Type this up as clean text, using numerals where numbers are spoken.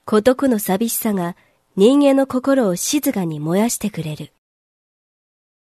孤独の寂しさが人間の心を静かに燃やしてくれる。